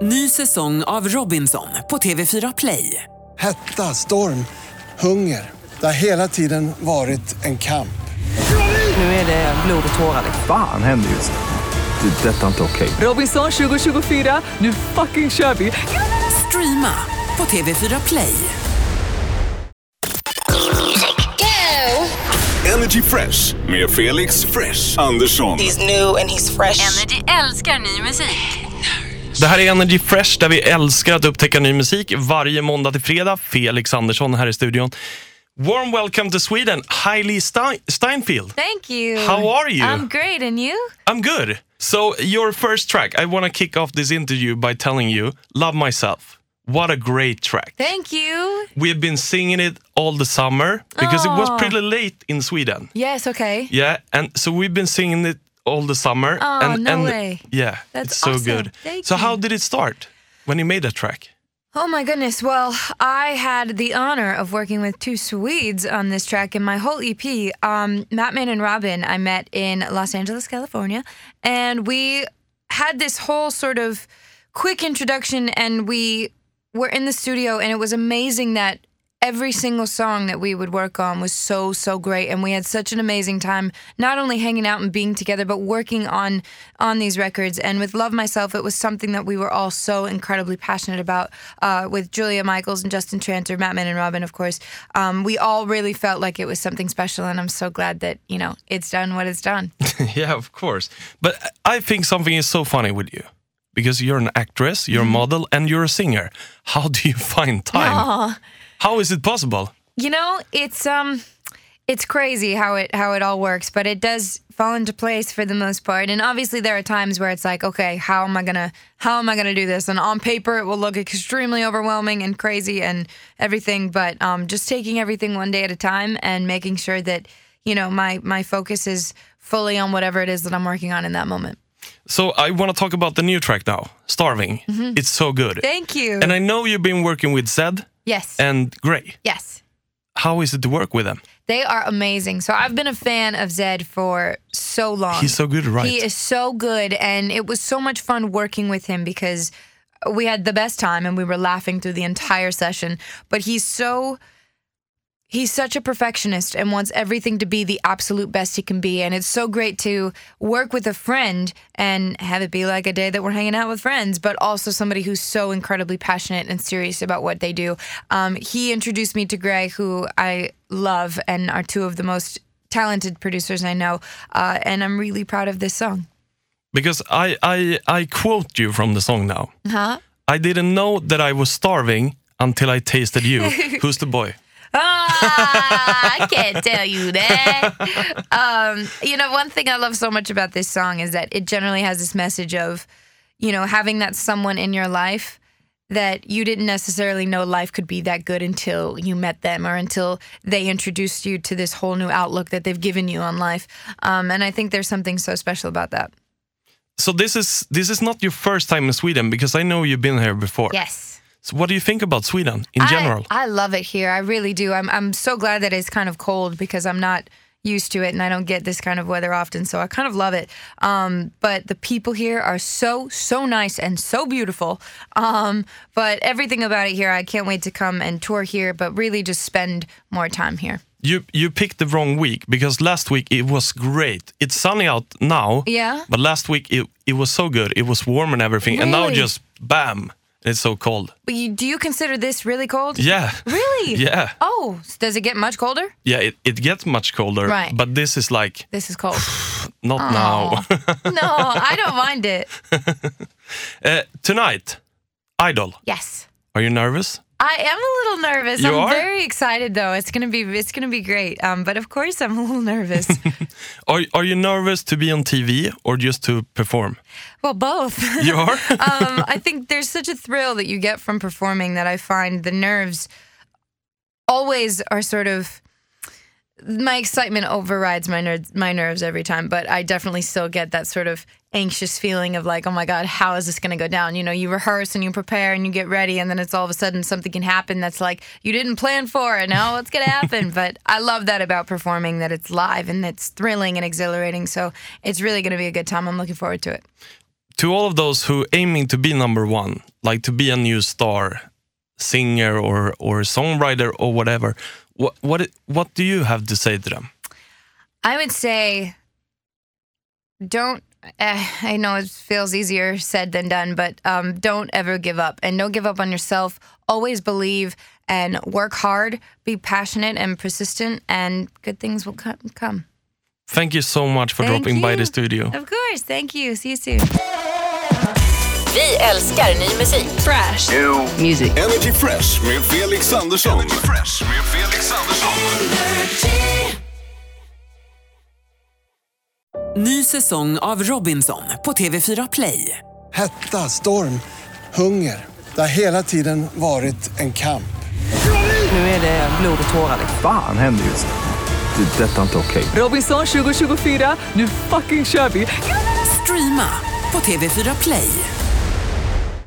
Ny säsong av Robinson på TV4 Play. Hetta, storm, hunger. Det har hela tiden varit en kamp. Nu är det blod och tårar. Fan händer just nu. Det. Detta är inte okej. Robinson 2024, nu fucking kör vi. Streama på TV4 Play. Energy Fresh med Felix Fresh Andersson. He's new and he's fresh. Energy älskar ny musik. Det här är Energy Fresh där vi älskar att upptäcka ny musik varje måndag till fredag. Felix Andersson här i studion. Warm welcome to Sweden, Hailey Steinfeld. Thank you. How are you? I'm great, and you? I'm good. So your first track, I want to kick off this interview by telling you, Love Myself. What a great track. Thank you. We've been singing it all the summer because it was pretty late in Sweden. Yes, okay. Yeah, and so we've been singing it all the summer. No way. Yeah, That's it's so awesome. good. Thank so you. how did it start when you made that track? Oh my goodness. Well, I had the honor of working with two Swedes on this track in my whole EP. Mattman and Robin I met in Los Angeles, California. And we had this whole sort of quick introduction, and we were in the studio, and it was amazing that every single song that we would work on was so great, and we had such an amazing time not only hanging out and being together but working on these records. And with Love Myself, it was something that we were all so incredibly passionate about, with Julia Michaels and Justin Tranter, Mattman and Robin, of course. We all really felt like it was something special, and I'm so glad that, you know, it's done what it's done. Yeah, of course. But I think something is so funny with you. Because you're an actress, you're a model, and you're a singer. How do you find time? Aw. How is it possible? You know, it's crazy how it all works, but it does fall into place for the most part. And obviously there are times where it's like, okay, how am I gonna do this? And on paper it will look extremely overwhelming and crazy and everything, but just taking everything one day at a time and making sure that, you know, my focus is fully on whatever it is that I'm working on in that moment. So I want to talk about the new track now, Starving. It's so good. Thank you. And I know you've been working with Zed Yes. and Gray. Yes. How is it to work with them? They are amazing. So I've been a fan of Zed for so long. He's so good, right? He is so good, and it was so much fun working with him because we had the best time and we were laughing through the entire session. But he's such a perfectionist and wants everything to be the absolute best he can be. And it's so great to work with a friend and have it be like a day that we're hanging out with friends, but also somebody who's so incredibly passionate and serious about what they do. He introduced me to Gray, who I love and are two of the most talented producers I know. And I'm really proud of this song. Because I quote you from the song now. Huh? I didn't know that I was starving until I tasted you. Who's the boy? I can't tell you that. You know, one thing I love so much about this song is that it generally has this message of, you know, having that someone in your life that you didn't necessarily know life could be that good until you met them or until they introduced you to this whole new outlook that they've given you on life. And I think there's something so special about that. So this is not your first time in Sweden, because I know you've been here before. Yes. So what do you think about Sweden in general? I love it here. I really do. I'm so glad that it's kind of cold because I'm not used to it and I don't get this kind of weather often, so I kind of love it. But the people here are so nice and so beautiful. But everything about it here, I can't wait to come and tour here, but really just spend more time here. You picked the wrong week, because last week it was great. It's sunny out now. Yeah. But last week it was so good. It was warm and everything. And now Really? just bam, it's so cold. But do you consider this really cold? Yeah. Really? Yeah. Oh, does it get much colder? Yeah, it gets much colder. Right. But this is like, This is cold. not now. No, I don't mind it. Tonight, Idol. Yes. Are you nervous? I am a little nervous. You I'm are? very excited though. It's gonna be great. But of course I'm a little nervous. Are you nervous to be on TV or just to perform? Well, both. You are? I think there's such a thrill that you get from performing that I find the nerves always are sort of, my excitement overrides my nerves every time, but I definitely still get that sort of anxious feeling of like, oh my God, how is this going to go down? You know, you rehearse and you prepare and you get ready, and then it's all of a sudden something can happen that's like, you didn't plan for it. Now what's going to happen? But I love that about performing, that it's live and it's thrilling and exhilarating. So it's really going to be a good time. I'm looking forward to it. To all of those who aiming to be number one, like to be a new star, singer or songwriter or whatever, what do you have to say to them? I would say don't, I know it feels easier said than done, but don't ever give up. And don't give up on yourself. Always believe and work hard. Be passionate and persistent, and good things will come. Thank you so much for dropping by the studio. Of course, thank you. See you soon. Vi älskar ny musik. Fresh. New Music. Energy Fresh med Felix Andersson. Energy Fresh med Felix Andersson. Ny säsong av Robinson på TV4 Play. Hetta, storm, hunger. Det har hela tiden varit en kamp. Nu är det blod och tårar. Fan händer just det. Det är detta inte okej. Robinson 2024, nu fucking kör vi! Streama på TV4 Play.